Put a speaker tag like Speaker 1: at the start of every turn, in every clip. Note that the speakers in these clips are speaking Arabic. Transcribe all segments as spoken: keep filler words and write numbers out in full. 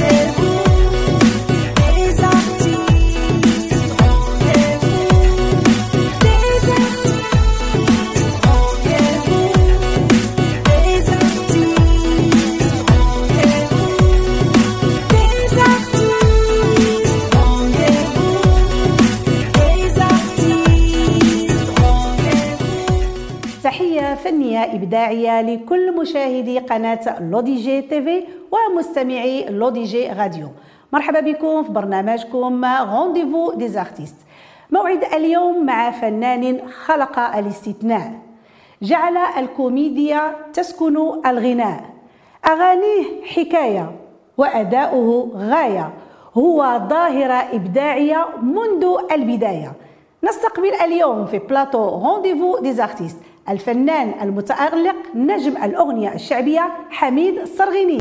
Speaker 1: تحية فنية إبداعية لكل مشاهدي قناة لوديجي تيفي ومستمعي لوديجي راديو. مرحبا بكم في برنامجكم رونديفو دي ارتيست. موعد اليوم مع فنان خلق الاستثناء، جعل الكوميديا تسكن الغناء، أغانيه حكاية وأداؤه غاية، هو ظاهرة إبداعية منذ البداية. نستقبل اليوم في بلاطو رونديفو دي ارتيست الفنان المتألق نجم الأغنية الشعبية حميد الصرغيني.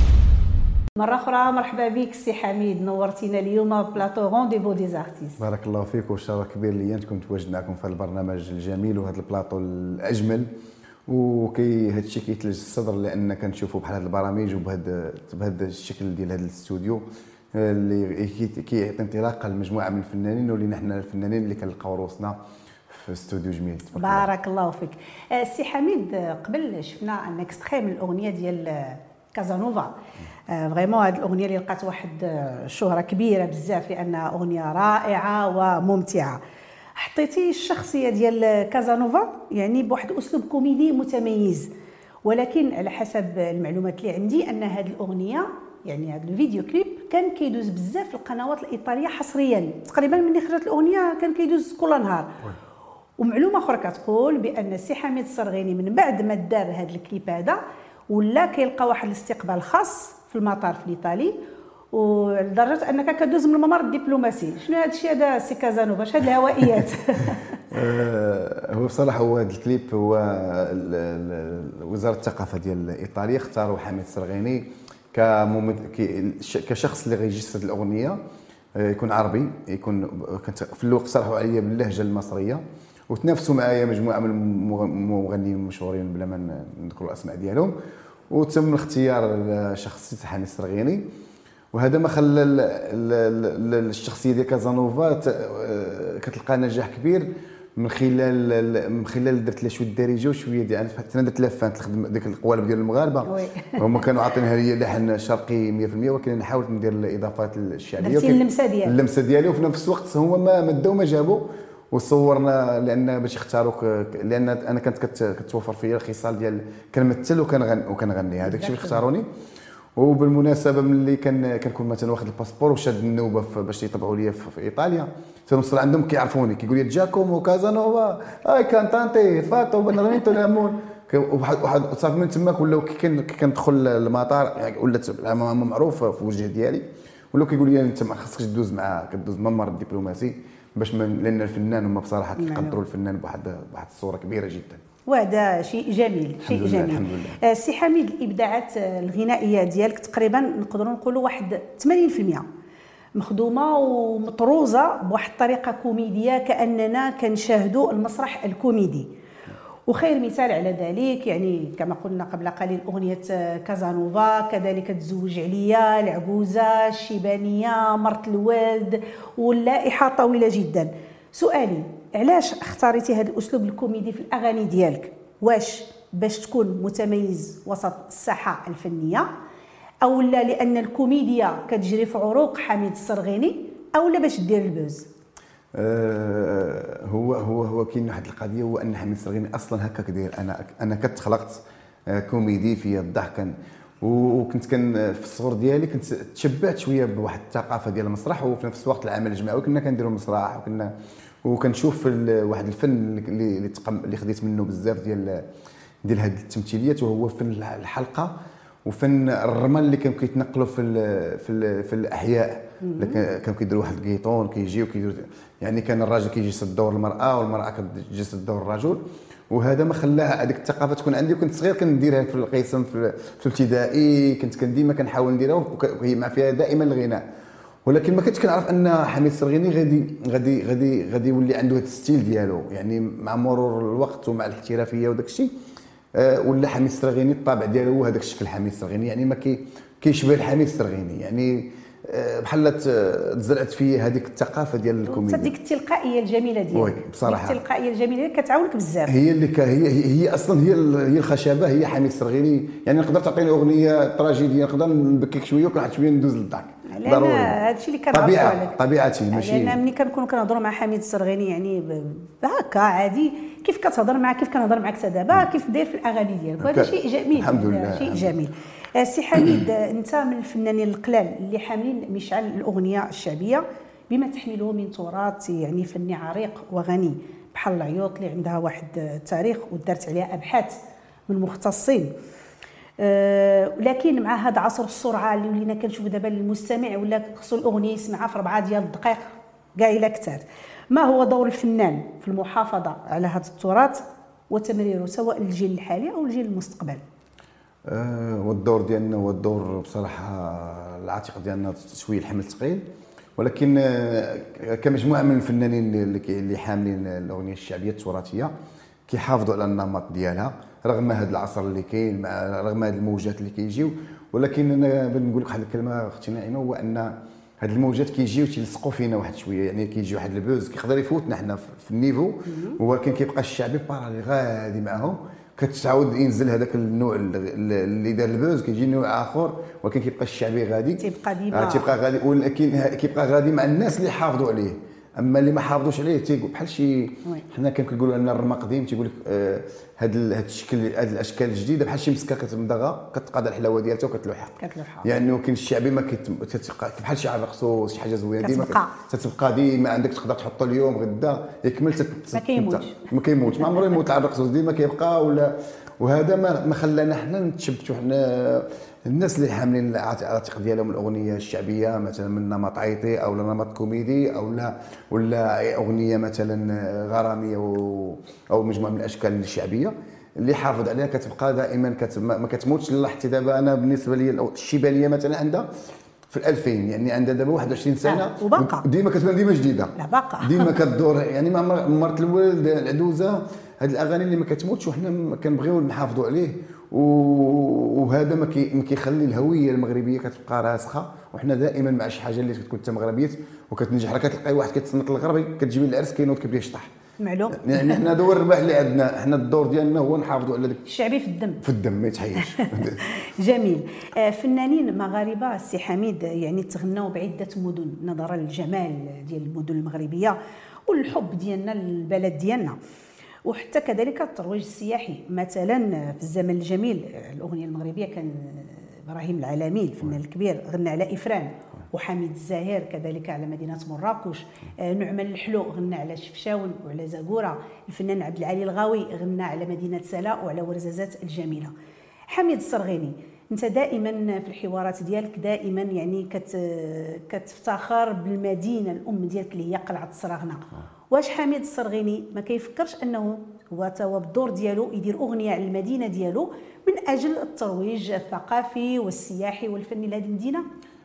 Speaker 1: مرة أخرى مرحبا بك سي حميد، نورتينا اليوم بلاطو رونديفو دي ارتيست.
Speaker 2: بارك الله فيك، وشرف كبير لي نكون تواجد معكم في هذا البرنامج الجميل وهذا البلاطو الأجمل، وكي هذا الشيء كيثلج الصدر لأن كنشوفوا بحال هذه البرامج وبهذا بهذا الشكل ديال هذا الاستوديو اللي كيعطي انطلاقه لمجموعه من الفنانين ولينا حنا الفنانين اللي كنلقاو روسنا في استوديو جميل.
Speaker 1: بارك الله فيك. سي حميد، قبل شفنا ان اكستري من الاغنيه ديال كازانوفا، فريمون هذه الاغنيه اللي لقات واحد الشهره كبيره بزاف لانها اغنيه رائعه وممتعه. حطيتي الشخصيه ديال كازانوفا يعني بواحد اسلوب كوميدي متميز، ولكن على حسب المعلومات اللي عندي ان هذه الاغنيه يعني هذا الفيديو كليب كان كيدوز بزاف في القنوات الايطاليه حصريا، تقريبا ملي خرجت الاغنيه كان كيدوز كل نهار. ومعلومه اخرى كتقول بان السي حميد الصرغيني من بعد ما دار هذا الكليب هذا ولا كيلقى واحد الاستقبال خاص في المطار في الايطالي، ولدرجه انك كدوز من الممر الدبلوماسي. شنو هذا الشيء هذا سي كازانوفا؟ اش هاد الهوائيات؟
Speaker 2: هو بصراحه هو هذا الكليب هو وزاره الثقافه ديال ايطاليا اختاروا حميد الصرغيني كشخص اللي غيجسد الاغنيه، يكون عربي، يكون في الوقت اقترحوا عليا باللهجه المصريه، وتنافسوا معايا مجموعه من المغنيين المشهورين بلا ما نذكروا الاسماء ديالهم، وتم اختيار شخصيه حميد الصرغيني. وهذا ما خلى الشخصيه ديال كازانوفا كتلقى نجاح كبير من خلال من خلال درت لها شويه الدارجه وشويه ديال حتى انا درت لها فان تخدم ديك القوالب ديال المغاربه. هما كانوا عاطينها لي لحن شرقي مية بالمية، ولكن انا حاولت ندير الاضافات الشعبيه
Speaker 1: درتي اللمسه ديالها
Speaker 2: اللمسه ديالي وفي نفس الوقت هما ما مداو ما جابوا وصورنا، لان باش يختاروك، لان انا كانت كتوفر فيا الخصال ديال كنمثل وكنغني وكنغني هذاك الشيء اللي اختاروني. وبالمناسبه ملي كان كنكون مثلا واخد الباسبور وشاد النوبه باش يطبعوا لي في ايطاليا، تنوصل عندهم كيعرفوني كيقول لي جاكومو كازانوفا اي كانتانتي فاتو بنرميتو لامون، واحد واحد صافي من تماك ولاو كي كندخل المطار يعني ولات معروف في الوجه ديالي، ولاو كيقول لي انت ما خصكش تدوز مع كدوز ممر الدبلوماسي باش لان الفنان هما بصراحه كيقدروا الفنان بواحد بواحد الصوره كبيره جدا،
Speaker 1: وهذا شيء جميل. شيء جميل الحمد لله. سي حميد، الابداعات الغنائيه ديالك تقريبا نقدروا نقولوا واحد ثمانين بالمئة مخدومه ومطروزه بواحد الطريقه كوميديه كاننا كنشاهدوا المسرح الكوميدي. وخير مثال على ذلك يعني كما قلنا قبل قليل اغنيه كازانوفا، كذلك تزوج عليا، العجوزه، الشيبانيه، مرت الوالد، واللائحه طويله جدا. سؤالي، علاش اختاريتي هذا الاسلوب الكوميدي في الاغاني ديالك؟ واش باش تكون متميز وسط الساحه الفنيه، او لا لان الكوميديا كتجري في عروق حميد الصرغيني، او لا باش دير البوز؟
Speaker 2: أه هو هو هو كاين واحد القضيه، هو ان حميد الصرغيني اصلا هكاك داير. انا انا كنت خلقت كوميدي في الضحك، وكنت كان في الصغر ديالي كنت تشبعت شويه بواحد الثقافه ديال المسرح، وفي نفس الوقت العمل الجماعي كنا كنديروا المسرح، وكنا وكنشوف واحد الفن اللي اللي تقم اللي خديت منه بزاف ديال ديال هذه التمثيليات، وهو فن الحلقه وفن الرمل اللي كانوا كيتنقلوا في ال في ال في الاحياء، كانوا كيديروا واحد الكيطون كيجي وكيديروا يعني كان الراجل كيجسد دور المراه والمراه كتجسد دور الرجل، وهذا ما خلاها هذيك الثقافه تكون عندي. وكنت صغير كنديرها في القسم في الابتدائي، كنت ديما كنحاول نديرها وهي مع فيها دائما الغناء، ولكن ما كنتش كنعرف ان حميد الصرغيني غادي غادي غادي غادي يولي عنده هذا الستيل ديالو. يعني مع مرور الوقت ومع الاحترافيه وداك الشيء أه ولا حميد الصرغيني الطابع ديالو هو هذاك الشكل حميد الصرغيني، يعني ما كي كيشبه الحميد السرغيني، يعني بحال تزرعت فيه هذيك الثقافه ديال الكوميديا،
Speaker 1: هذيك التلقائيه الجميله ديالك.
Speaker 2: وي بصراحه
Speaker 1: التلقائيه الجميله كتعاونك بزاف،
Speaker 2: هي اللي ك... هي هي اصلا هي هي الخشبه، هي حميد السرغيني. يعني نقدر تعطيني اغنيه تراجيديه نقدر نبكيك شويه وكنعطيك شويه ندوز للضحك،
Speaker 1: ضروري. هذا الشيء اللي كنعرفوا عليك
Speaker 2: طبيعتي ماشي.
Speaker 1: لان ملي كنكونوا كنهضروا مع حميد السرغيني يعني هكا عادي كيف كتهضر معاه كيف كنهضر معاك حتى دابا كيف داير في الاغاني ديالك، وهذا شيء جميل.
Speaker 2: الحمد لله
Speaker 1: شيء جميل. سي حميد، انت من الفنانين القلال اللي حاملين مشعل الاغنيه الشعبيه بما تحمله من تراث يعني فني عريق وغني، بحال العيوط اللي عندها واحد التاريخ ودارت عليها ابحاث من مختصين. أه لكن مع هذا عصر السرعه اللي ولينا كنشوف دابا المستمع ولا خصو الاغنيه يسمعها في أربعة ديال الدقائق كاع الا كثر، ما هو دور الفنان في المحافظه على هذا التراث وتمريره سواء للجيل الحالي او الجيل المستقبل؟
Speaker 2: أه والدور ديالنا هو الدور بصراحه العاتق ديالنا شويه الحمل ثقيل، ولكن كمجموعه من الفنانين اللي حاملين الاغنيه الشعبيه التراثيه كيحافظوا على النمط ديالها رغم هذا العصر اللي كاين، مع رغم هذه الموجات اللي كيجيو. ولكن انا بنقول لك واحد الكلمه اختي نعيمه، هو ان هاد الموجات كيجيو تيلصقوا فينا واحد شويه، يعني كيجي واحد البوز كيقدر يفوتنا حنا في النيفو، ولكن كيبقى الشعبي بارالي غادي معهم، كتعاود ينزل هذاك النوع اللي دار البوز كيجي نوع اخر، ولكن كيبقى الشعبي غادي
Speaker 1: تيبقى ديما
Speaker 2: آه تيبقى غادي، ولكن كيبقى غادي مع الناس اللي حافظوا عليه. اما اللي ما حافظوش عليه تيقول بحال شي حنا كنقولوا ان الرما قديم، تيقول لك آه هاد هاد الشكل هاد الاشكال الجديده بحال شي مسكه كتمضغها كتقاد الحلاوه ديالها وكتلوحها
Speaker 1: كتلوحها، يعني
Speaker 2: ولكن الشعبي ما كتبقى بحال شي عرقسو شي حاجه زوينه ديما تتبقى ديما عندك، تقدر تحطو اليوم غدا يكمل
Speaker 1: ما كيموتش
Speaker 2: ما كيموتش ما عمره يموت العرقسو ديما كيبقى. ولا وهذا ما ما خلانا حنا نتشبتوا حنا الناس اللي حاملين العاتق ديالهم الاغنيه الشعبيه مثلا من نمط عيطي او نمط كوميدي او لا ولا اغنيه مثلا غراميه او مجموعه من الاشكال الشعبيه اللي حافظ عليها كتبقى دائما كت... ما كتموتش. حتى دابا انا بالنسبه لي الشيبانيه مثلا عندها في الألفين، يعني عندها دابا واحد وعشرين سنه
Speaker 1: آه. وباقا
Speaker 2: ديما كتبان ديما جديده،
Speaker 1: لا باقا
Speaker 2: ديما كدور، يعني ما مرت الولد العدوزه، هاد الاغاني اللي ما كتموتش وحنا كنبغيو نحافظوا عليه، وهذا ما كيخلي الهويه المغربيه كتبقى راسخه. وحنا دائما مع شي حاجه اللي كتكون انت مغربيه وكتنجح، راه كتلقاي واحد كيتصنت للغربي كتجيبي العرس كينوض كيبدا يشطح،
Speaker 1: معلوم.
Speaker 2: يعني حنا هذا هو الربح اللي عندنا، حنا الدور ديالنا هو نحافظوا على داك
Speaker 1: الشعبي في الدم
Speaker 2: في الدم ما يتحيش.
Speaker 1: جميل. فنانين مغاربه السي حميد يعني تغنوا بعده مدن نظرا للجمال ديال المدن المغربيه والحب ديالنا للبلد ديالنا، وحتى كذلك الترويج السياحي. مثلا في الزمن الجميل الاغنيه المغربيه كان ابراهيم العالمي الفنان الكبير غنى على افران، وحميد الزاهر كذلك على مدينه مراكش، نعمان الحلو غنى على شفشاون وعلى زاكوره، الفنان عبد العالي الغاوي غنى على مدينه سلا وعلى ورزازات الجميله. حميد السرغيني، انت دائما في الحوارات ديالك دائما يعني كت كتفتخر بالمدينه الام ديالك اللي هي قلعه السراغنه. واش حميد السرغيني ما كيفكرش انه هو توا بالدور ديالو يدير اغنيه على المدينه ديالو من اجل الترويج الثقافي والسياحي والفني لهذه المدينه؟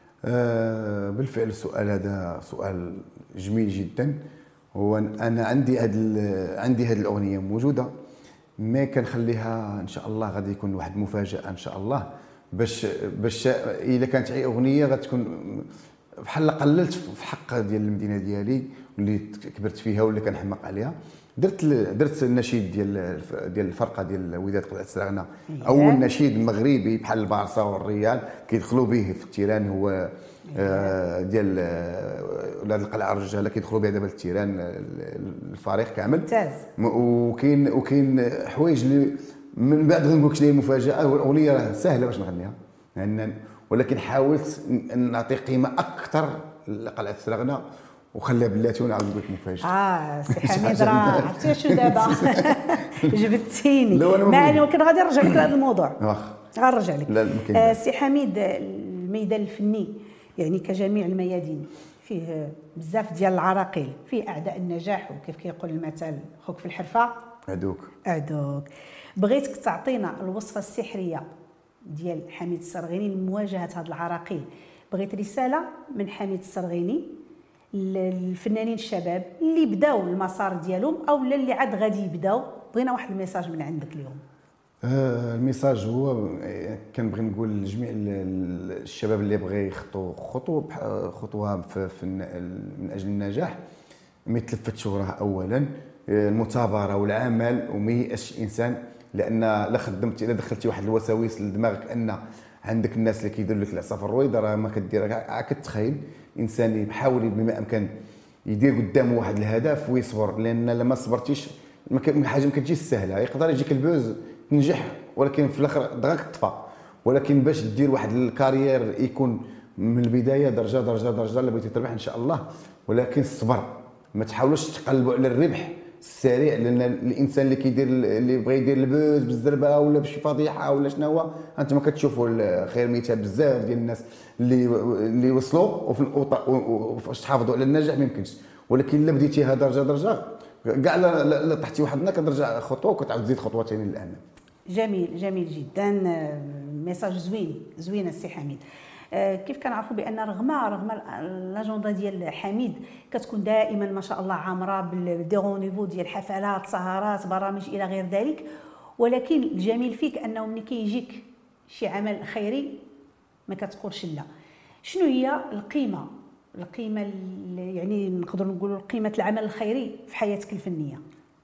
Speaker 2: آه بالفعل السؤال هذا سؤال جميل جدا. هو انا عندي هاد عندي هذه الاغنيه موجوده، ما كنخليها ان شاء الله غادي يكون واحد مفاجاه ان شاء الله، باش باش اذا كانت اي اغنيه غتكون بحال قللت في حق ديال المدينه ديالي واللي كبرت فيها واللي كنحماق عليها. درت درت النشيد ديال ديال الفرقه ديال وداد قلعه السراغنه، اول نشيد مغربي بحال البارسا والريال كيدخلوا به في التيران، هو آه ديال ولاد القلعه الرجاله كيدخلوا به دابا التيران الفريق كامل
Speaker 1: ممتاز.
Speaker 2: وكاين وكاين حوايج اللي من بعد غنقول لك لي مفاجاه. والاغنيه راه سهله باش نغنيها يعني، ولكن حاولت نعطي قيمه اكثر لقلعه السراغنه وخليها بلاتي ونعاود نقول لك مفاجاه.
Speaker 1: اه سي حميد راه عرفتي شنو دابا جبدتيني. ما انا كنت غادي نرجع لك لهذا الموضوع،
Speaker 2: واخا
Speaker 1: غنرجع لك.
Speaker 2: آه
Speaker 1: سي حميد، الميدان الفني يعني كجميع الميادين فيه بزاف ديال العراقيل، فيه اعداء النجاح، وكيف كيقول المثل خوك في الحرفه
Speaker 2: عدوك
Speaker 1: عدوك. بغيتك تعطينا الوصفه السحريه ديال حميد السرغيني لمواجهه هاد العراقيل. بغيت رساله من حميد السرغيني للفنانين الشباب اللي بداو المسار ديالهم او اللي عاد غادي يبداو، بغينا واحد الميساج من عندك اليوم.
Speaker 2: آه، الميساج هو كنبغي نقول لجميع ال- الشباب اللي بغى يخطو خطوه بح- خطوه في في الن- من اجل النجاح، ما يتلفتش وراها اولا. آه، المثابره والعمل، وما ييأسش الانسان، لان لا خدمتي الا دخلتي واحد الوساوس لدماغك ان عندك الناس اللي كيديروا لك العصا في الرويضه، راه ما كدير كاع. كتخيل انسان يحاول بما امكن يدير قدامه واحد الهدف ويصبر، لان لما صبرتيش ما كان- حاجه ما كتجيش سهله. يقدر يجيك البوز تنجح، ولكن في الاخر دغاك تطفى. ولكن باش دير واحد الكارير يكون من البدايه درجه درجه درجه اللي بغيتي تربح ان شاء الله، ولكن الصبر. ما تحاولوش تقلبوا على الربح السريع، لان الانسان اللي كيدير اللي بغى يدير البوز بالزربه ولا بشي فضيحه ولا شنو هو، انت ما كتشوفوا خير مثال بزاف ديال الناس اللي اللي وصلوا وفي الأوط- وفاش تحافظوا على النجاح ما يمكنش. ولكن الا بديتيها درجه درجه كاع لا لا طحتي واحد النهار كترجع خطوه وكتعاود تزيد خطوه ثاني للامام.
Speaker 1: جميل جميل جدا. آه، ميساج زوين زوين السي حميد. آه، كيف كنعرفوا بان رغم رغم لاجوندا ديال حميد كتكون دائما ما شاء الله عامره بالدي رونديفو ديال حفلات سهرات برامج الى غير ذلك، ولكن الجميل فيك انه ملي كيجيك شي عمل خيري ما كتقولش لا. شنو هي القيمه القيمه اللي يعني نقدر نقولوا قيمه العمل الخيري في حياتك الفنيه؟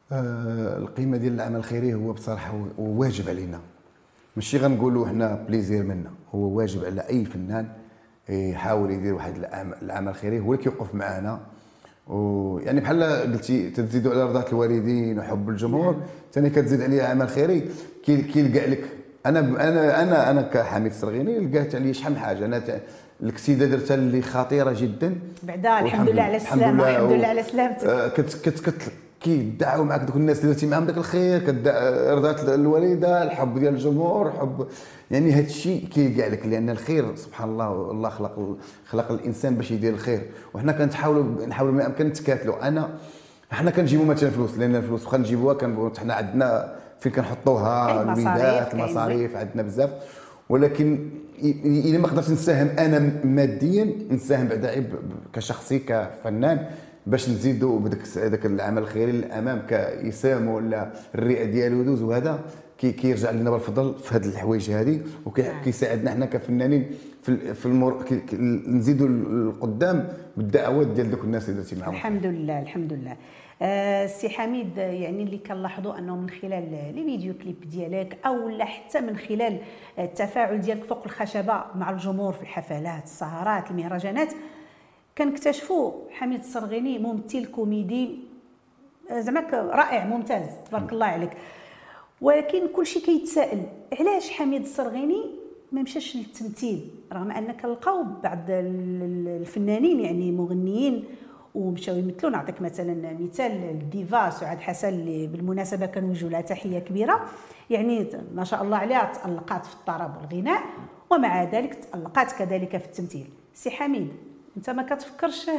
Speaker 2: آه، القيمه ديال العمل الخيري هو بصراحه هو واجب علينا، ماشي غنقولوا حنا بليزير منا، هو واجب على اي فنان يحاول يدير واحد العمل العمل الخيري، هو اللي كيوقف معنا. ويعني بحال قلتي تزيدوا على رضاة الوالدين وحب الجمهور، ثاني كتزيد عليه عمل خيري كيلقى لك. انا انا انا انا كحميد السرغيني لقات عليا شحال من حاجه. انا الكسيده درتها اللي خطيره جدا
Speaker 1: بعدا الحمد لله على السلامه. الحمد لله على سلامتك.
Speaker 2: كت كت كت كيدعوا معك دوك الناس اللي درتي معاهم داك الخير، رضات الوالده، الحب ديال الجمهور، حب يعني هذا الشيء كيلقى لك، لان الخير سبحان الله الله خلق خلق الانسان باش يدير الخير، وحنا كنحاولوا نحاولوا ما امكن نتكاتلوا. انا حنا كنجيبوا مثلا فلوس، لان الفلوس واخا نجيبوها كان حنا عندنا فين كنحطوها، الوليدات المصاريف عندنا بزاف. ولكن الا ما قدرتش نساهم انا ماديا، نساهم بعدا كشخصي كفنان باش نزيدوا بداك هذاك العمل الخيري للامام كيسام ولا الرئه ديالو يدوز، وهذا كي كيرجع لنا بالفضل في هذه الحوايج هذه، وكيساعدنا حنا كفنانين في في المر... نزيدوا القدام بالدعوات ديال دوك الناس اللي درتي معاهم.
Speaker 1: الحمد لله الحمد لله. السي حميد، يعني اللي كنلاحظوا انه من خلال لي فيديو كليب ديالك او لا حتى من خلال التفاعل ديالك فوق الخشبه مع الجمهور في الحفلات السهرات المهرجانات، كنكتشفوا حميد السرغيني ممثل كوميدي زعما رائع ممتاز تبارك الله عليك. ولكن كلشي كيتسائل علاش حميد السرغيني ما مشاش للتمثيل، رغم ان كنلقاو بعض الفنانين يعني مغنيين ومشاو يمثلوا. نعطيك مثلا مثال الديفا سعاد حسن اللي بالمناسبه كنوجهوا لها تحيه كبيره، يعني ما شاء الله عليها تألقات في الطرب والغناء، ومع ذلك تألقات كذلك في التمثيل. سي حميد، انت ما كتفكرش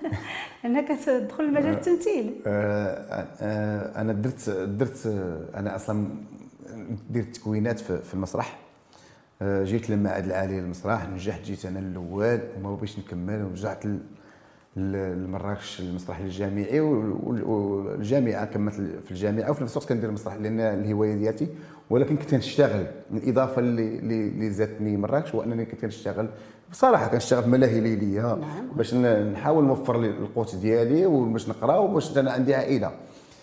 Speaker 1: انك تدخل المجال التمثيل؟
Speaker 2: انا درت درت انا اصلا درت تكوينات في المسرح، جيت للمعهد العالي للمسرح، نجحت، جيت انا الاول وما بغيتش نكمل، ورجعت لمراكش المسرح الجامعي والجامعه، كملت في الجامعه وفي نفس الوقت كندير المسرح لان الهوايه ديالتي. ولكن كنت كنشتغل، الاضافه اللي اللي زادتني مراكش هو انني كنت كنشتغل بصراحه، كنشتغل في ملاهي ليليه. نعم. باش نحاول نوفر لي القوت ديالي وباش نقرا وباش انا عندي عائله.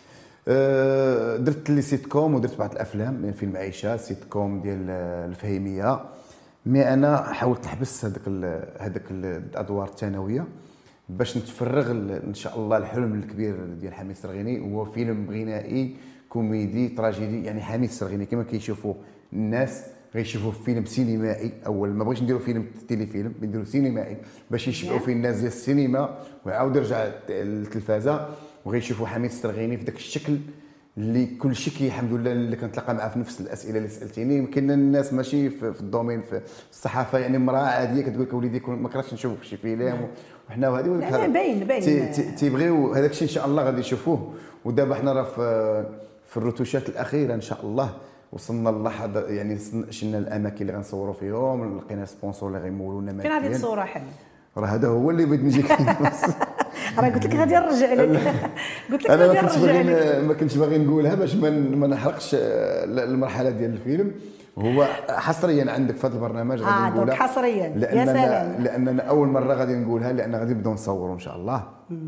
Speaker 2: أه درت لي سيت كوم ودرت بعض الافلام، فيلم عائشه سيت كوم ديال الفهيميه. مي انا حاولت نحبس هذاك هذاك الادوار الثانويه باش نتفرغ ان شاء الله الحلم الكبير ديال حميد السرغيني، هو فيلم غنائي كوميدي تراجيدي. يعني حميد السرغيني كما كيشوفوا الناس غيشوفوا فيلم سينمائي. اول ما بغيتش نديروا فيلم تيلي فيلم، نديروا سينمائي باش يشبعوا فيه الناس ديال السينما، ويعاود يرجع للتلفازه وغيشوفوا حميد السرغيني في ذاك الشكل اللي كل شيء كي الحمد لله اللي كنتلاقى معاه في نفس الاسئله اللي سالتيني. يمكن الناس ماشي في, في الدومين في الصحافه، يعني امراه عاديه كتقول لك وليدي ما كرهتش نشوف شي فيلم وحنا وهذه،
Speaker 1: لا باين باين
Speaker 2: تيبغيو هذاك الشيء ان شاء الله غادي يشوفوه. ودابا حنا راه في في الروتوشات الاخيره ان شاء الله وصلنا للحظه، يعني شلنا الاماكن اللي غنصوروا فيهم، لقينا سبونسور اللي غيمولونا ماليا.
Speaker 1: فين هذه الصوره حنا؟
Speaker 2: راه هذا هو اللي بغيت نجيك
Speaker 1: راه قلت لك غادي نرجع لك قلت لك
Speaker 2: انا ما
Speaker 1: غادي
Speaker 2: كنتش
Speaker 1: نرجع
Speaker 2: باغي
Speaker 1: لك.
Speaker 2: ما كنتش باغي نقولها باش ما ما نحرقش المرحله ديال الفيلم. هو حصريا عندك في هذا البرنامج غادي
Speaker 1: اه
Speaker 2: نقولها
Speaker 1: دونك حصريا يا
Speaker 2: لاننا
Speaker 1: سلام.
Speaker 2: لاننا اول مره غادي نقولها، لان غادي نبداو نصوروا ان شاء الله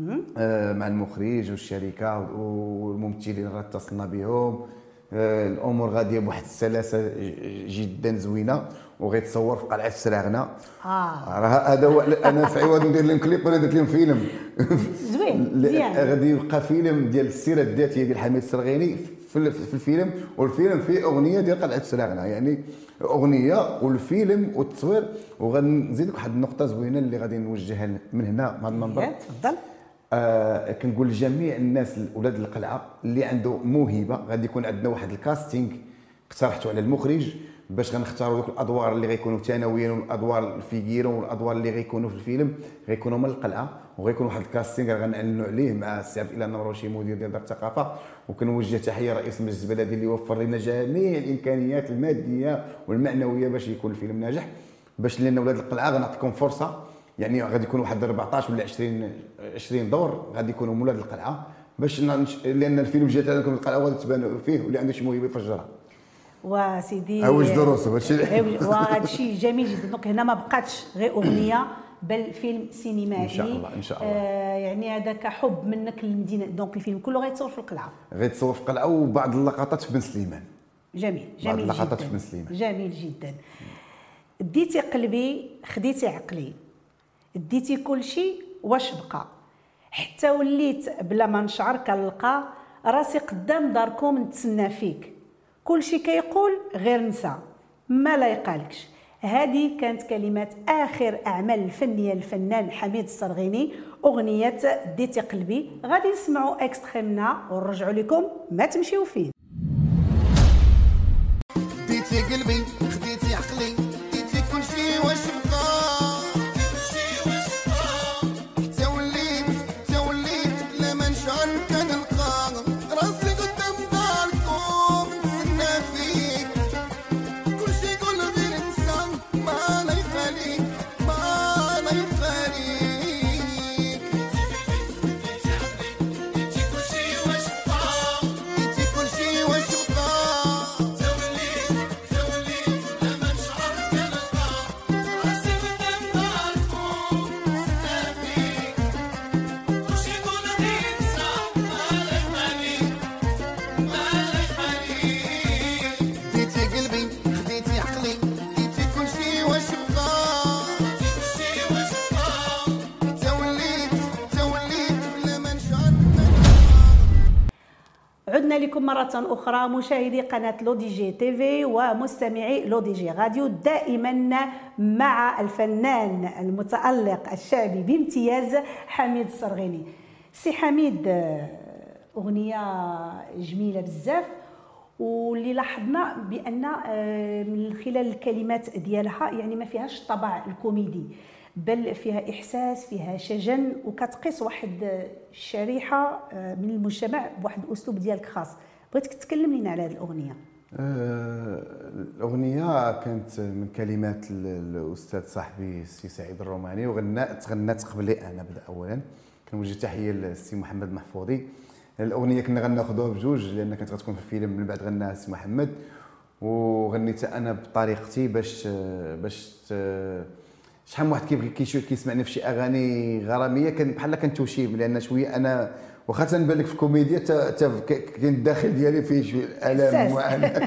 Speaker 2: آه مع المخرج والشركه والممثلين راه اتصلنا بهم. آه الامور غاديه بواحد السلاسه جدا زوينه، وغيتصور في قلعه سراغنا.
Speaker 1: اه
Speaker 2: راه هذا هو. انا في عوض ندير لهم كليب انا درت لهم فيلم
Speaker 1: زوين مزيان.
Speaker 2: غادي يبقى فيلم ديال السيره الذاتيه ديال حميد السرغيني في في الفيلم، والفيلم فيه اغنيه ديال قلعه سراغنا، يعني اغنيه والفيلم والتصوير. وغادي نزيدك واحد النقطه زوينه اللي غادي نوجهها من هنا من هذا المنبر.
Speaker 1: تفضل.
Speaker 2: آه كنقول لجميع الناس اولاد القلعه اللي عنده موهبه، غادي يكون عندنا واحد الكاستينغ اقترحته على المخرج باش غنختاروا دوك الادوار اللي غيكونوا ثانويين، والادوار الفيغيرو والادوار اللي غيكونوا في الفيلم غيكونوا من القلعه. وغيكون واحد الكاستينغ غنعلنوا عليه مع السي عبد الاله النمروشي مدير ديال دار الثقافه. وكنوجه تحيه رئيس مجلس البلدي اللي وفر لنا جميع الامكانيات الماديه والمعنويه باش يكون الفيلم ناجح. باش لان اولاد القلعه غنعطيكم فرصه، يعني غادي يكون واحد أربعطاش ولا عشرين عشرين دور غادي يكونوا من ولاد القلعه، باش ننش... لان الفيلم جات لكم القلعه غادي تبان فيه، واللي عنده شي موهبه يفجرها.
Speaker 1: وسيدي
Speaker 2: عوج دروسه هادشي
Speaker 1: وهذا الشيء جميل جدا. دونك هنا ما بقاتش غير اغنيه بل فيلم سينمائي
Speaker 2: ان شاء الله. ان شاء الله.
Speaker 1: آه يعني هذاك حب منك للمدينه. دونك الفيلم كله غيتصور في القلعه،
Speaker 2: غيتصور في القلعه، وبعض اللقطات في بن سليمان.
Speaker 1: جميل
Speaker 2: بعض
Speaker 1: جميل
Speaker 2: اللقطات
Speaker 1: جدا
Speaker 2: في بن سليمان.
Speaker 1: جميل جدا. ديتي قلبي خديتي عقلي، ديتي كل شيء واش بقى، حتى وليت بلا ما نشعر كنلقى راسي قدام داركم نتسنى فيك، كل شيء كيقول غير نسى ما لا يقالكش. هذه كانت كلمات اخر اعمال الفنيه الفنان حميد السرغيني، اغنيه ديتي قلبي. غادي نسمعوا اكستري منها ونرجعوا لكم، ما تمشيو فين.
Speaker 3: ديتي قلبي خديتي عقلي، ديتي كل شيء واش بقى، حتى وليت حتى وليت لا ما نشعر كنلقى راسي قدام داركم نتسنى فيك، كل شيء يقول غير انسى ما لا يخاليك ما لا يخاليك. ديتي كل شيء واش بقى، ديتي كل شيء واش بقى،
Speaker 1: عدنا لكم مرة أخرى مشاهدي قناة لو دي جي تي في ومستمعي لو دي جي راديو، دائما مع الفنان المتألق الشعبي بامتياز حميد السرغيني. سي حميد، أغنية جميلة بزاف، واللي لاحظنا بأن من خلال الكلمات ديالها يعني ما فيهاش الطابع الكوميدي، بل فيها إحساس، فيها شجن، وكتقيس واحد الشريحة من المجتمع بواحد الأسلوب ديالك خاص. بغيتك تكلم لنا على هذه الأغنية.
Speaker 2: آه الأغنية كانت من كلمات الأستاذ صاحبي السي سعيد الروماني، وغنات تغنات قبلي أنا بدا أولا. كنوجه تحية للسي محمد محفوظي. الأغنية كنا غناخذوها بجوج لأن كانت غتكون في الفيلم، من بعد غناها السي محمد وغنيتها أنا بطريقتي باش باش شحال من واحد كيبغي كيشوف كيسمعني في شي اغاني غراميه كان بحال كنتوشيم، لان شويه انا واخا تنبان لك في الكوميديا كاين الداخل ديالي فيه شويه الام ومعاناه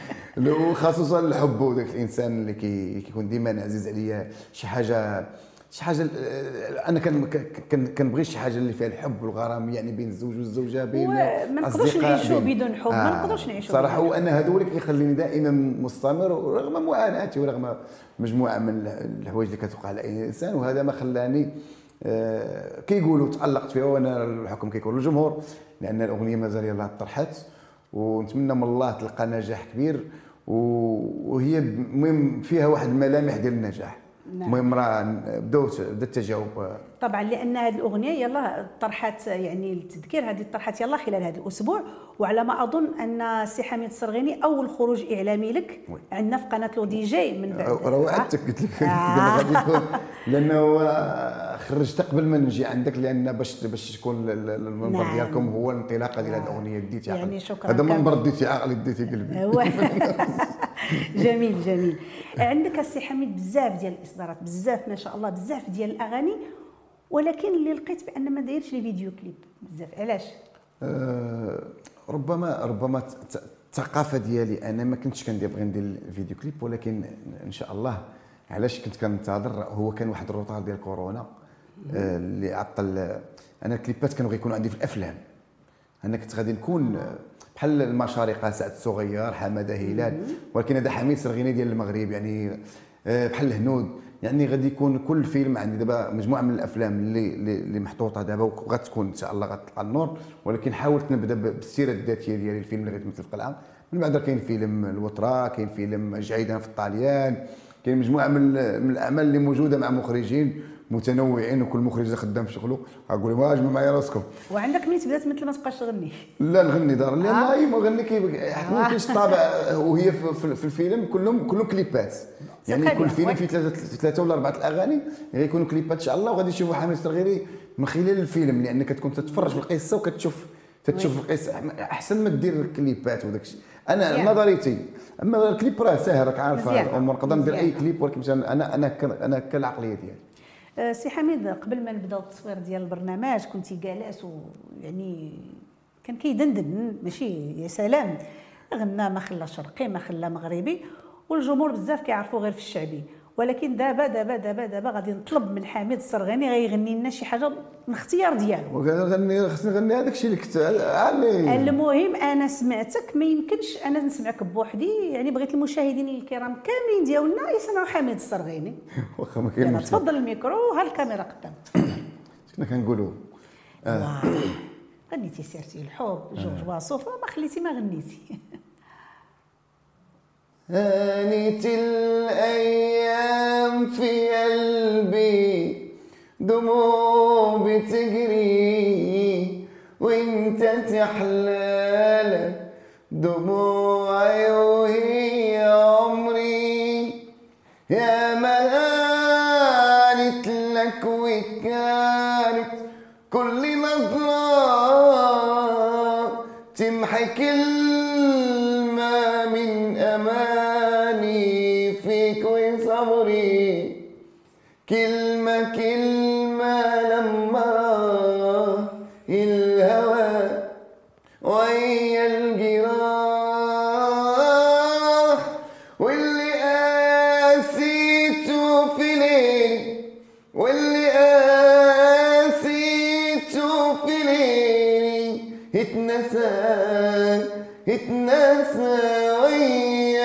Speaker 2: وخصوصا الحب وداك الانسان اللي كيكون ديما عزيز عليا شي حاجه شي حاجه. انا كنبغي شي حاجه اللي فيها الحب والغرام، يعني بين الزوج والزوجه، بين
Speaker 1: ما نقدروش نعيشوا بدون حب. آه. ما نقدروش نعيشوا
Speaker 2: صراحه. وانا هذا هو اللي كيخليني دائما مستمر رغم معاناتي ورغم مجموعه من الحوايج اللي كتوقع على اي انسان. وهذا ما خلاني آه كيقولوا تالقت فيها، وانا الحكم كيكون للجمهور، لان الاغنيه مازال يلاه طرحت، ونتمنى من الله تلقى نجاح كبير، وهي المهم فيها واحد الملامح ديال النجاح.
Speaker 1: نعم.
Speaker 2: المهم راه بداو بدا التجاوب.
Speaker 1: طبعا لان هذه الاغنيه يلا طرحت، يعني التذكير هذه طرحت يلا خلال هذا الاسبوع، وعلى ما اظن ان سي حميد الصرغيني اول خروج اعلامي لك عندنا في قناه لو دي جي من بعد.
Speaker 2: راه وعدتك قلت لك غادي يكون، لانه خرجت قبل ما نجي عندك، لان باش باش تكون المنبر
Speaker 1: نعم.
Speaker 2: ديالكم هو الانطلاقه ديال هذه الاغنيه ديتي عقلي.
Speaker 1: يعني شكرا.
Speaker 2: هذا المنبر ديتي عقلي ديتي قلبي.
Speaker 1: جميل جميل. عندك السي حميد بزاف ديال الاصدارات، بزاف ما شاء الله، بزاف ديال الاغاني، ولكن اللي لقيت بان ما دايرش لي فيديو كليب بزاف، علاش؟
Speaker 2: أه ربما ربما الثقافه ديالي انا ما كنتش كندير بغي ندير الفيديو كليب، ولكن ان شاء الله علاش كنت كنتظر، هو كان واحد الروطار ديال كورونا أه اللي عطل. انا الكليبات كانوا غيكونوا عندي في الافلام، انا كنت غادي نكون بحال المشارقه سعد الصغير، حماده هلال، ولكن هذا حميد الصرغيني ديال المغرب، يعني بحال الهنود، يعني غادي يكون كل فيلم عندي دابا مجموعه من الافلام اللي اللي محطوطه دابا وغتكون ان شاء الله غتطلع النور، ولكن حاولت نبدا بالسيره الذاتيه ديالي، الفيلم اللي غيتمثل في القلعه. من بعد كاين فيلم الوتره، كاين فيلم جعيدا في الطاليان، كاين مجموعه من من الاعمال اللي موجوده مع مخرجين متنوعين، وكل مخرج خدام في شغله. اقول لهم اجمعوا معايا راسكم.
Speaker 1: وعندك ملي تبدا تمثل ما تبقاش تغني؟
Speaker 2: لا نغني دار، لا لا ما نغني كيف ما كاينش طابع، وهي في, في الفيلم كلهم كلهم كليبات، يعني كل فيلم فيه ثلاثه ثلاثه ولا اربعه الاغاني غيكونوا كليبات ان شاء الله، وغادي يشوفوا حميد الصرغيني من خلال الفيلم، لان كتكون تتفرج في القصه وكتشوف تتشوف القصه احسن ما دير الكليبات وداك الشيء. انا نظريتي، اما الكليب راه ساهل، راك عارفه الامور، نقدر ندير اي كليب، ولكن انا انا انا كالعقليه ديالي.
Speaker 1: سي حميد، قبل ما نبداو التصوير ديال البرنامج كنتي جالس ويعني كان كيدندن، ماشي يا سلام، غنى ما خلى شرقي ما خلى مغربي، والجمهور بزاف كيعرفوا غير في الشعبي، ولكن دابا دابا دابا دابا غادي نطلب من حميد الصرغيني غيغني لنا شي حاجه من اختيار ديالو.
Speaker 2: وغنغني خصني نغني هذاك الشيء اللي كنت عليه.
Speaker 1: المهم انا سمعتك، ما يمكنش انا نسمعك بوحدي، يعني بغيت المشاهدين الكرام كاملين ديالنا يسمعوا حميد الصرغيني.
Speaker 2: واخا ما كاين مشكل.
Speaker 1: تفضل الميكرو وها الكاميرا قدام.
Speaker 2: كنا كنقولوا
Speaker 1: آه. غنيتي سيرتي الحب جورج واصوف، ما خليتي ما غنيتي.
Speaker 2: هانت الأيام في قلبي دموع بتجري، وانت تحلالك دموعي وهي عمري، يا ما هانت لك وكانت كل نظرة تمحي كلمة من أماني فيك وصبري، كلمة كلمة لما الهوى ويا الجراح، واللي قاسيته في ليلي واللي قاسيته في ليلي اتنسى اتنسى ويا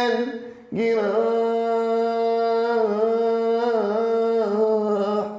Speaker 2: الجراح.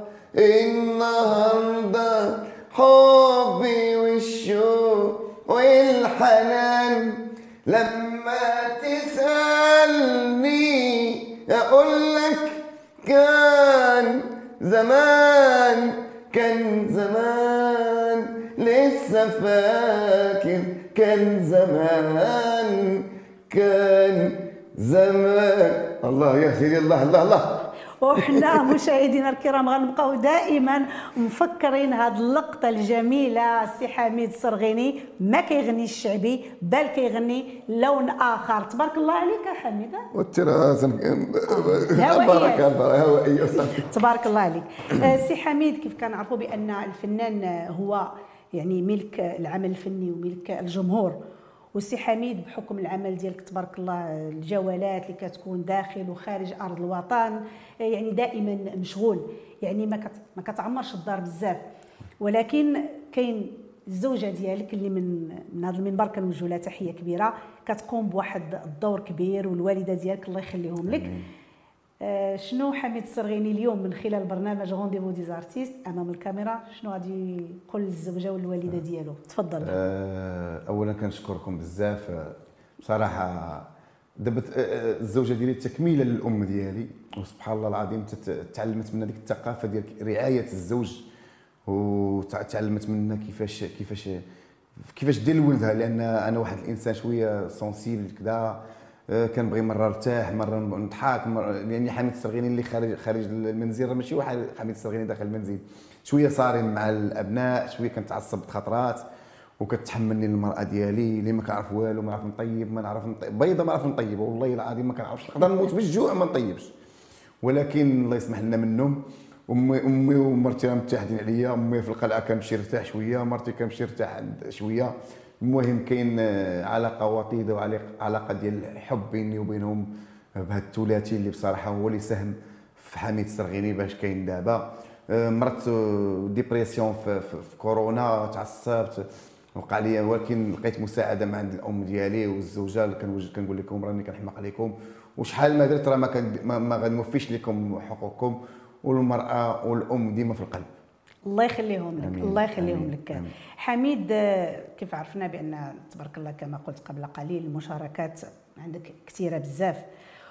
Speaker 2: النهارده حبي والشوق والحنان لما تسألني أقول لك كان زمان كان زمان، لسه فاكر كان زمان كان زمان. الله يا سيدي، الله الله الله.
Speaker 1: وحنا مشاهدينا الكرام غنبقاو دائما مفكرين هاد اللقطه الجميله، السي حميد الصرغيني ما كيغني الشعبي بل كيغني لون اخر. تبارك الله عليك يا حميد.
Speaker 2: والتراث بارك الله هوائيه.
Speaker 1: تبارك الله عليك. السي حميد، كيف كنعرفوا بان الفنان هو يعني ملك العمل الفني وملك الجمهور، والسي حميد بحكم العمل ديالك تبارك الله، الجولات اللي كتكون داخل وخارج ارض الوطن، يعني دائما مشغول، يعني ما ما كتعمرش الدار بزاف، ولكن كاين الزوجه ديالك اللي من من هذا المنبر كنوجه لها تحيه كبيره، كتقوم بواحد الدور كبير، والوالده ديالك الله يخليهم لك. آه شنو حميد الصرغيني اليوم من خلال برنامج رونديفو دي زارتيست امام الكاميرا، شنو غادي يقول للزوجه والوالده ديالو؟ تفضل.
Speaker 2: آه اولا كنشكركم بزاف بصراحه. دابا الزوجه ديالي تكميله للام ديالي، وسبحان الله العظيم تعلمت منها ديك الثقافه ديال رعايه الزوج، وتعلمت منها كيفاش كيفاش كيفاش دير لولدها، لان انا واحد الانسان شويه سونسيبل كذا، كنبغي مره ارتاح مره نضحك، لاني حميد السرغيني اللي خارج خارج المنزل راه ماشي واحد حميد السرغيني داخل المنزل، شويه صارم مع الابناء، شويه كنتعصب بخطرات، وكتحملني المراه ديالي اللي ما كنعرف والو، ما نعرف نطيب، ما نعرف نطيب بيضه، ما نعرف نطيب، والله العظيم ما كنعرفش، نقدر نموت بالجوع ما نطيبش، ولكن الله يسمح لنا منهم. امي امي ومرتي راه متحدين عليا، امي في القلعه كنمشي نرتاح شويه، مرتي كنمشي نرتاح عند شويه، المهم كاين علاقه وطيده وعلاقه ديال الحب بيني وبينهم بهذا الثلاثي اللي بصراحه هو اللي ساهم في حميد السرغيني باش كاين دابا. مرت ديبرسيون في, في, في كورونا، تعصبت وقع لي، ولكن لقيت مساعده من عند الام ديالي والزوجه اللي كنوجد كنقول لكم راني كنحماق عليكم، وشحال ما درت راه ما كان ما, ما غنوفيش لكم حقوقكم، والمراه والام ديما في القلب.
Speaker 1: الله يخليهم لك. أمين. الله يخليهم أمين. لك.
Speaker 2: أمين.
Speaker 1: حميد، كيف عرفنا بان تبارك الله كما قلت قبل قليل المشاركات عندك كثيره بزاف،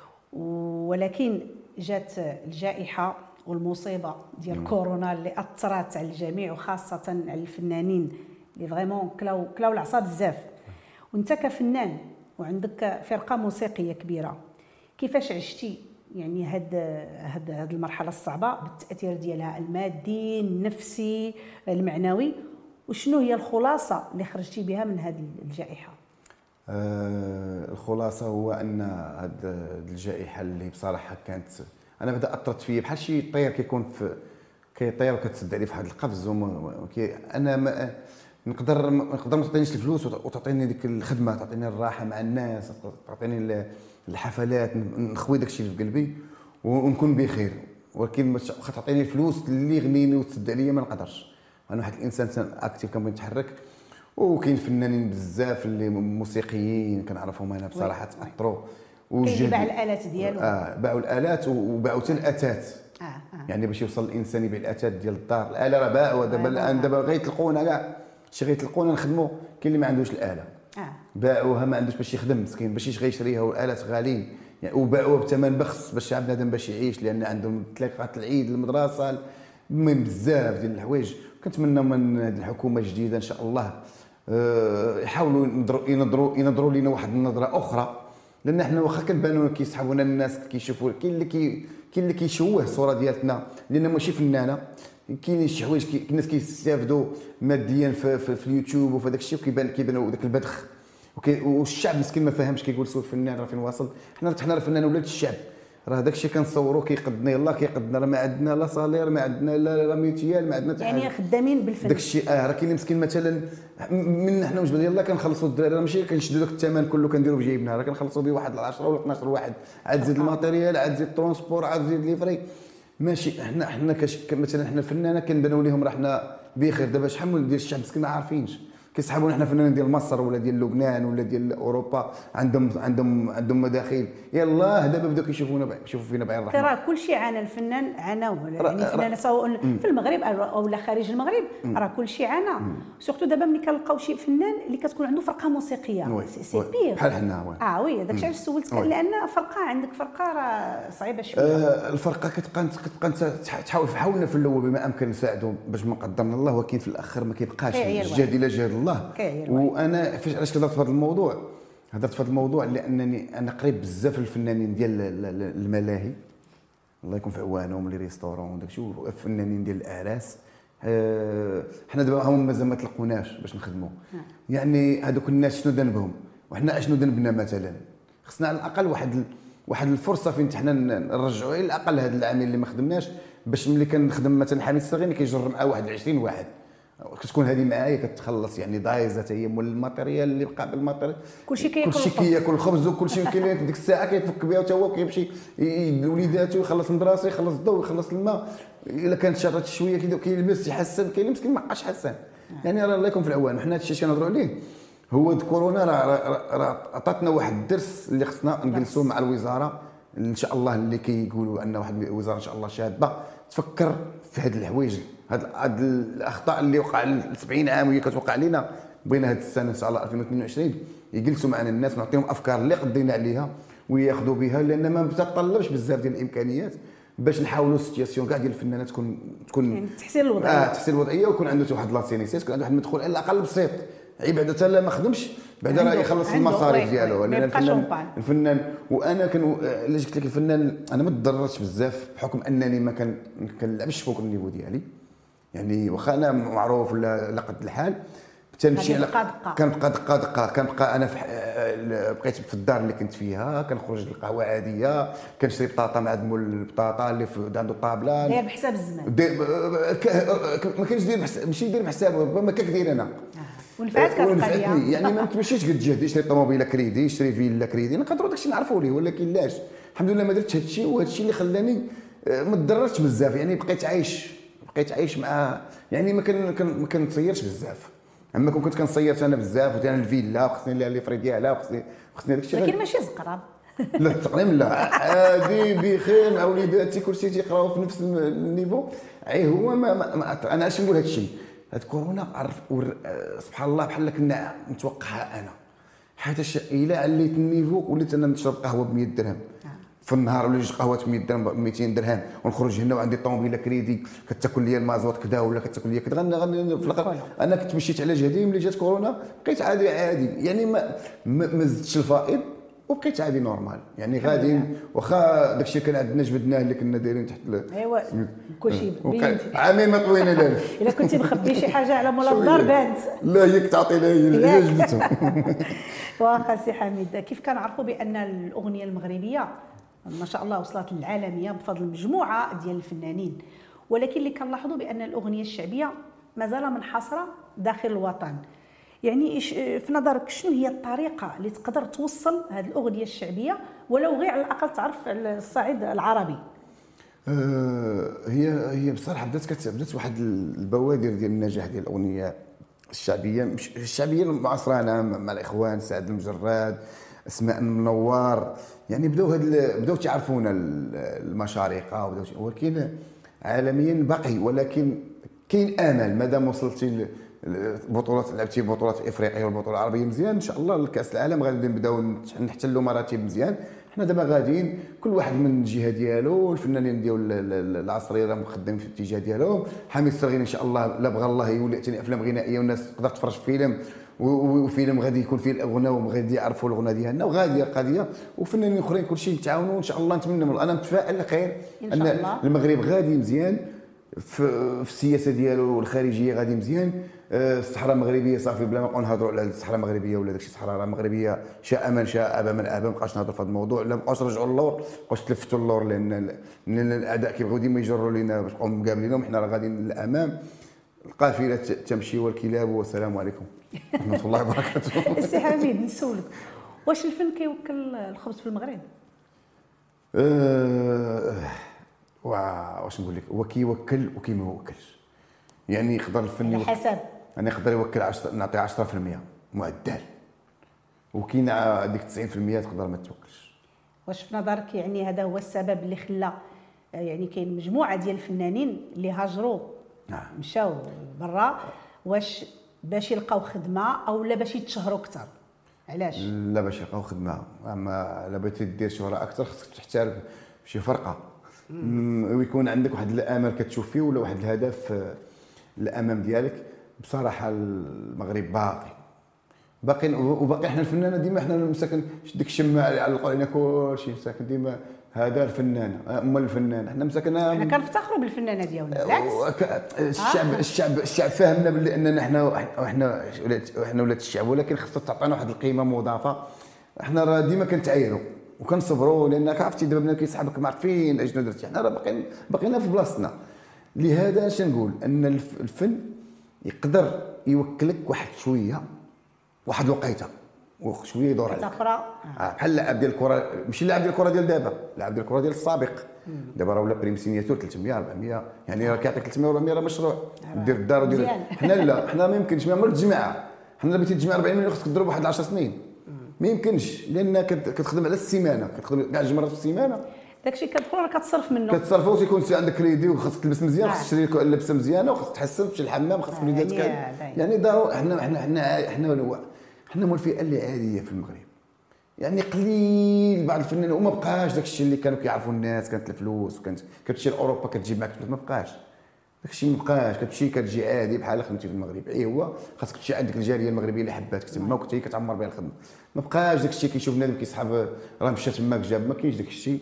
Speaker 1: ولكن جات الجائحه والمصيبه ديال كورونا اللي اثرت على الجميع وخاصه على الفنانين اللي فريمون كلاو كلاو العصا بزاف، وانت كفنان وعندك فرقه موسيقيه كبيره، كيفاش عشتي يعني هاد هاد هاد المرحله الصعبه بالتاثير ديالها المادي النفسي المعنوي، وشنو هي الخلاصه اللي خرجتي بها من هذه الجائحه؟
Speaker 2: آه الخلاصه هو ان هاد الجائحه اللي بصراحه كانت انا بدا اثرت فيا بحال شي طير كيكون في كيطير وكتسد عليه في واحد القفز، انا ما نقدر نقدر ما تعطينيش الفلوس وتعطيني ديك الخدمه، تعطيني الراحه مع الناس، تعطيني الحفلات، نخوي داكشي اللي في قلبي ونكون بخير، ولكن واخا تعطيني الفلوس اللي يغنيني وتسد عليا ما نقدرش. انا واحد الانسان اكتيف كنبغي نتحرك، وكاين فنانين بزاف اللي موسيقيين كنعرفهم انا بصراحه تاثروا،
Speaker 1: كاين باع الالات ديالو،
Speaker 2: اه باعوا الالات وباعوا حتى الاتات، آه آه. يعني باش يوصل الانسان يبيع الاتات ديال الدار، الاله راه باعوا دابا الان، دابا غيتلقونا كاع شي غيتلقونا نخدموا، كاين اللي ما عندوش الاله آه. باعوها ما عندوش باش يخدم مسكين، باش غيشريها والالات غاليين يعني، وباعوها بثمن بخس باش الشعب بنادم باش يعيش، لان عندهم تلاقات العيد المدرسه المهم بزاف ديال الحوايج. كنتمنى من هذه الحكومه الجديده ان شاء الله أه يحاولوا ينظروا ينظروا ينظروا لنا واحد النظره اخرى، لان حنا واخا كنبانوا كيسحبونا الناس كيشوفوا، كاين اللي كي كاين اللي كيشوه الصوره ديالتنا لان ماشي فنانه، كاين شي حوايج كي الناس كيستافدوا ماديا في, في, في اليوتيوب وفي داك الشيء، وكيبان كيبانوا داك البذخ، والشعب مسكين ما فاهمش، كيقول سوق الفنان راه فين واصل، حنا حنا راه فنان ولاد الشعب، راه داك الشيء كنصوروا كيقدنا يلاه كيقدنا، راه ما عندنا لا صالير، ما عندنا لا ميتيال، ما عندنا حتى
Speaker 1: يعني خدامين بالفن
Speaker 2: داك الشيء. اه راه كاين مسكين مثلا من حنا وجبنا يلاه كنخلصوا الدراري، راه ماشي كنشدوا داك الثمن كله كنديروا بجيبنا، راه كنخلصوا به واحد عشرة ولا اثناش واحد، عاد زيد الماتيريال، عاد زيد الترونسبور، عاد زيد ليفري، ماشي حنا حنا مثلا حنا فنانه كنبانوا لهم راه حنا بخير. دابا شحال من ديال الشعب مسكين ما عارفينش، كيسحبونا حنا فنانين ديال مصر ولا ديال لبنان ولا ديال اوروبا، عندهم عندهم عندهم مداخيل، يلاه دابا بداو كيشوفونا يشوفوا فينا بعين الرحمه.
Speaker 1: راه كلشي عانى الفنان، عاناو يعني الفنان سواء في المغرب او لا خارج المغرب، راه كلشي عانى، سورتو دابا ملي كنلقاو شي فنان اللي كتكون عنده فرقه موسيقيه سي بيغ
Speaker 2: بحال حنا.
Speaker 1: اه وي داكشي علاش سولتك، لان فرقه عندك فرقه راه صعيبه شويه.
Speaker 2: آه الفرقه كتبقى كتبقى تحاول حاولنا في الاول بما امكن نساعدوا باش ما قدرنا الله، ولكن في الاخر ما كيبقاش الجهد الا جهد الله. وانا فاش علاش كدرت في هذا الموضوع، هضرت في هذا الموضوع لانني انا قريب بزاف الفنانين ديال الملاهي، الله يكون في عوانهم، لي ريستورون وداك الشيء، والفنانين ديال الاعراس. أه حنا دابا هما مازال ما تلقوناش باش نخدموا، يعني هذوك الناس شنو ذنبهم وحنا اشنو ذنبنا؟ مثلا خصنا على الاقل واحد واحد الفرصه فين حنا نرجعوا على الاقل هذا العامل اللي ما خدمناش، باش ملي كنخدم مثلا حميد السرغيني كيجر معاه واحد عشرين واحد، كتكون هذه معايا كتخلص يعني دايزه حتى هي، مول الماتيريال اللي بقى بالماتيريال
Speaker 1: كلشي كياكل
Speaker 2: كلشي كياكل الخبز، وكلشي كاين ديك الساعه كيتفك بها حتى هو كيمشي لوليداتو، يخلص المدرسه، يخلص الضوء، يخلص الماء، الا كانت شرات شويه كيلبس يحسن، كاين اللي مسكين ما بقاش حسان، يعني راه الله يكون في العوان. وحنا هادشي اللي كنهضروا عليه هو كورونا راه راه عطاتنا واحد الدرس اللي خصنا نجلسوا مع الوزاره ان شاء الله، اللي كيقولوا ان واحد الوزاره ان شاء الله شاده تفكر في هاد الحوايج، هاد هاد الاخطاء اللي وقع سبعين عام وهي كتوقع علينا، بغينا هاد السنه ان شاء الله ألفين واثنين وعشرين يجلسوا معنا الناس ونعطيهم افكار اللي قدينا عليها، وياخذوا بها، لان ما تتطلبش بزاف ديال الامكانيات باش نحاولوا السيتياسيون كاع ديال الفنانات تكون تكون
Speaker 1: يعني تحسين الوضعيه.
Speaker 2: اه تحسين الوضعيه، ويكون عنده واحد لاسينيسيس، يكون عنده واحد المدخول على الاقل بسيط، عيب بعدا حتى لا ما خدمش بعدا راه يخلص المصاريف ديالو.
Speaker 1: لان
Speaker 2: الفنان الفنان وانا كن الا قلت لك الفنان انا ما تضررتش بزاف بحكم انني ما كان ما كنلعبش فوق النيفو ديالي، يعني واخا انا معروف ولا لا قد الحال تنمشي على كنبقى دقه دقه كنبقى انا في بقيت في الدار اللي كنت فيها، كنخرج للقهوه عاديه، كنشري بطاطا مع دمول البطاطا اللي عنده الطابله
Speaker 1: داير بحساب الزمان،
Speaker 2: ما كانش داير ماشي داير بحساب ربما كدير انا
Speaker 1: ونفعت كالقضيه
Speaker 2: يعني ما تمشيش قد جهد يشري طوموبيله كريدي يشري فيلا كريدي نقدروا داكشي نعرفوا ليه، ولكن لاش الحمد لله ما درتش هادشي، وهادشي اللي خلاني ما تضررتش بزاف، يعني بقيت عايش بقيت عايش مع يعني ما كان ما كنتصيرش بزاف، اما كون كنت كنصير انا بزاف وثاني الفيلا وخصني لي فري ديالها وخصني خصني داك الشيء،
Speaker 1: لكن ماشي زقراب
Speaker 2: لا التقريم لا عادي بخير مع وليداتي كلشي تيقراو في نفس النيفو. عي هو ما, ما, ما انا اش نقول هذا الشيء، هاد كورونا عرف سبحان الله بحال كنا متوقعها انا، حيت الا عليت النيفو وليت انا نشرب قهوه ب مية درهم في النهار ولا جوج قهوات ب مية درهم ب ميتين درهم، ونخرج هنا وعندي طوموبيله كريدي كتاكل لي المازوت كذا ولا كتاكل لي كذا، غني في الاخر انا كنت مشيت على جهدي. ملي جات كورونا بقيت عادي عادي يعني ما ما زدتش الفائض وبقيت عادي نورمال، يعني غادي واخا داكشي كان عندنا جبدناه اللي كنا دايرين تحت
Speaker 1: ايوا كلشي بين
Speaker 2: عامين ما طوينا الالف
Speaker 1: الا كنتي مخبي شي حاجه على مولا الدار بانت
Speaker 2: لا هي كتعطي لها هي جبتو.
Speaker 1: واخا سي حميد كيف كنعرفوا بان الاغنيه المغربيه ما شاء الله وصلت للعالميه بفضل مجموعه ديال الفنانين، ولكن اللي كنلاحظوا بان الاغنيه الشعبيه مازال منحصره داخل الوطن، يعني في نظرك شنو هي الطريقه اللي تقدر توصل هذه الاغنيه الشعبيه ولو غير على الاقل تعرف الصعيد العربي؟
Speaker 2: أه هي هي بصراحه بدات بدات واحد البوادر ديال النجاح ديال الاغنيه الشعبيه، مش الشعبيه المعاصره انا مع الاخوان سعد المجرد اسماء منور، يعني بداو هاد بداو تعرفونا المشارقه وبداو، ولكن عالميا باقي، ولكن كاين امل مادام وصلتي البطولات لعبتي بطولات افريقيا والبطوله العربيه مزيان ان شاء الله الكاس العالم غادي نبداو نحتلوا مراتب مزيان. حنا دابا غاديين كل واحد من الجهه ديالو، الفنانين ديال العصريه راه مخدمين في الاتجاه ديالهم، حميد الصغير ان شاء الله لا بغى الله يولي ثاني افلام غنائيه والناس تقدر تفرج في فيلم وفيلم غادي يكون فيه الاغنيه وغادي يعرفوا الاغنيه ديالنا وغادي القضيه، وفنانين اخرين كلشي يتعاونوا ان شاء الله. نتمنى انا متفائل خير ان المغرب غادي مزيان في السياسه ديالو الخارجيه غادي مزيان. الصحراء المغربيه صافي بلا ما نبقاو نهضروا على الصحراء المغربيه ولا داكشي، الصحراء المغربيه شاء من شاء ابى من ابى، ما بقاش نهضروا في هذا الموضوع، لا بقاوش نرجعوا للور، ما بقاوش تلفتوا للور، لان لان الاعداء كيبغيو ديما يجروا لينا باش نبقاو مقابلينهم، حنا راه غاديين للامام، القافله تمشي والكلاب، والسلام عليكم ورحمه الله وبركاته.
Speaker 1: السي حميد نسولك، واش الفن كيوكل الخبز في المغرب؟
Speaker 2: أه واش نقول لك، هو كيوكل وكيما يوكلش، يعني يقدر الفن
Speaker 1: على حسب،
Speaker 2: انا يقدر يوكل عشرة نعطي عشرة في المية معدل، وكاين هذيك تسعين في المية تقدر ما توكلش.
Speaker 1: واش في نظرك يعني هذا هو السبب اللي خلى يعني كاين مجموعه ديال الفنانين اللي هاجروا
Speaker 2: نعم
Speaker 1: مشاو برا، واش باش يلقاو خدمه او لا باش يتشهروا اكثر؟ علاش؟
Speaker 2: لا باش يلقاو خدمه، اما الا بغيتي دير شهره اكثر خصك تحترف بشي فرقه ويكون عندك واحد الامل كتشوف فيه ولا واحد الهدف الامام ديالك. بصراحه المغرب باقي باقي وباقي حنا الفنانه ديما حنا مساكن ديك الشماعه اللي علقوا علينا كلشي مساكن ديما هذا الفنانه ام الفنان، حنا مساكن
Speaker 1: حنا كنفتخروا بالفنانه ديالنا بالعكس.
Speaker 2: الشعب آه. الشعب الشعب فاهمنا باللي اننا حنا حنا حنا ولاد الشعب، ولكن خصها تعطينا واحد القيمه مضافه. حنا راه ديما كنتعايروا وكنصبروا لانك عرفتي دابا بنادم كيسحبك ما عارفين اشنو درتي، حنا راه باقيين باقيين في بلاصتنا. لهذا اش نقول ان الفن يقدر يوكلك واحد شويه واحد الوقيته وشويه يدور عليك
Speaker 1: اخرى
Speaker 2: بحال اللاعب ديال الكره، ماشي اللاعب ديال الكره ديال دابا، اللاعب ديال الكره ديال السابق دابا راه ولا بريم سينياتور ثلاثمية أربعمية، يعني راه كيعطيك ثلاثمية أربعمية راه مشروع دير الدار ودير. حنا لا حنا ما يمكنش ما عمرك تجمعها، حنا بغيتي تجمع أربعين مليون خصك تضرب واحد عشر سنين، ما يمكنش لان كتخدم على السيمانه، كتخدم كاع جوج مرات في السيمانه،
Speaker 1: داكشي كتدخل راه كتصرف منه
Speaker 2: كتصرفوا وتيكون عندك كريدي وخاصك تلبس مزيان، خاصك تشري لبسه مزيانه وخاصك تحسن تمشي للحمام، خاصك وليداتك يعني ضروري. حنا حنا حنا حنا حنا حنا من الفئه اللي عاديه في المغرب، يعني قليل بعض الفنانين وما بقاش داك الشيء اللي كانوا كيعرفوا الناس، كانت الفلوس وكانت كتمشي لاوروبا كتجيب معك فلوس، ما بقاش داك الشيء، ما بقاش. كتمشي كتجي عادي بحال خدمتي في المغرب، اي هو خاصك تمشي عندك الجاليه المغربيه اللي حباتك تما وكنت هي كتعمر بها الخدمه. ما بقاش داك الشيء كيشوف بنادم كيسحب راه مشى تماك جاب، ما كاينش داك الشيء.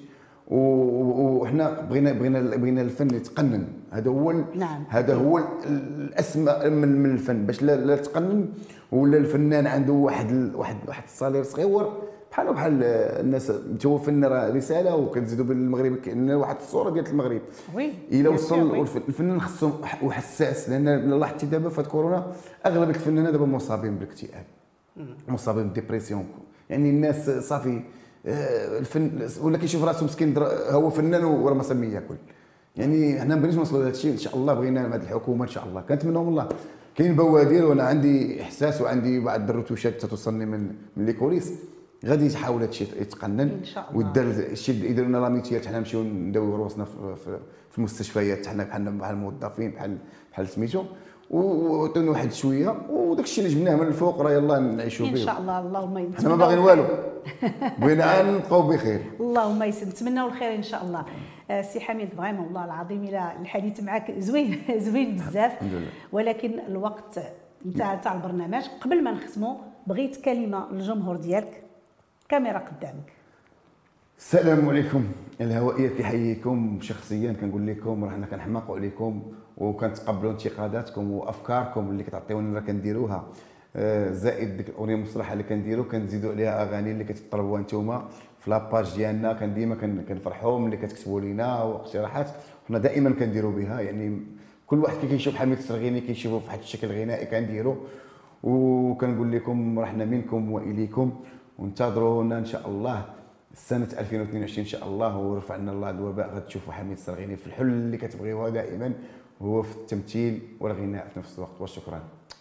Speaker 2: وحنا بغينا بغينا بغينا الفن يتقنن، هذا هو
Speaker 1: نعم.
Speaker 2: هذا هو الاسمى من من الفن، باش لا, لا تقنن ولا الفنان عنده واحد واحد واحد الصالير صغير بحال بحال الناس. انت هو فن راه رساله، وكنزيدوا بالمغرب كأن واحد الصوره ديال المغرب.
Speaker 1: وي
Speaker 2: الا وصل الفنان خصو وحساس، لان لاحظتي دابا في كورونا اغلب الفنانين دابا مصابين بالاكتئاب، مصابين بالديبرسيون. يعني الناس صافي الفن ولا كيشوف راسو مسكين هو فنان وراه ما سمي ياكل. يعني حنا ما بغيناش نوصلوا لهذا الشيء، ان شاء الله بغينا مع هذه الحكومه ان شاء الله كنتمناهم الله. كاين بوادر وانا عندي احساس وعندي بعض الرتوشات تتوصلني من من لي كوليس، غادي يحاول هذا الشيء يتقنن
Speaker 1: ان شاء الله.
Speaker 2: ودار الشيء اللي يديروا لنا راميتيات، حنا نمشيو نداويو راسنا في, في, في المستشفيات حنا بحال بحال الموظفين بحال بحال سميتو، وعطينا واحد شويه وداك الشيء اللي جبناه من الفوق راه يلاه نعيشوا به
Speaker 1: ان شاء الله. اللهم يسلمك،
Speaker 2: حنا ما باغيين والو، بغينا نبقاو بخير.
Speaker 1: اللهم يسلمك، نتمناو الخير ان شاء الله. آه سي حميد فريمون والله العظيم الى الحديث معك زوين زوين بزاف، ولكن الوقت انتهى تاع البرنامج. قبل ما نختموا بغيت كلمه للجمهور ديالك، كاميرا قدامك.
Speaker 2: السلام عليكم الهوائيه، كيحييكم شخصيا، كنقول لكم راه حنا كنحماقوا عليكم وكنتقبلوا انتقاداتكم وافكاركم اللي كتعطيونا راه كنديروها، زائد ديك الاغنيه المصطلحه اللي كنديروا كنزيدوا عليها اغاني اللي كتطلبوها نتوما في لاباج ديالنا. كان ديما كنفرحوا ملي كتكتبوا لينا واقتراحات، حنا دائما كنديروا بها. يعني كل واحد كي كيشوف حميد السرغيني كيشوفوا في واحد الشكل غنائي كنديروا، وكنقول لكم راه حنا منكم واليكم، وانتظرونا ان شاء الله سنه ألفين واثنين وعشرين ان شاء الله، ورفعنا الله الوباء غتشوفوا حميد السرغيني في الحل اللي كتبغيوها دائما، هو في التمثيل والغناء في نفس الوقت. وشكرا.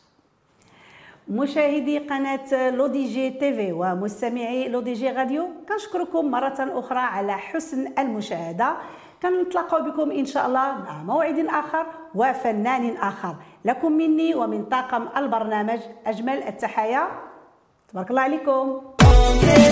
Speaker 1: مشاهدي قناه لو دي جي تيفي ومستمعي لو دي جي راديو، كنشكركم مره اخرى على حسن المشاهده. كنتلاقاو بكم ان شاء الله مع موعد اخر وفنان اخر. لكم مني ومن طاقم البرنامج اجمل التحايا، تبارك الله عليكم.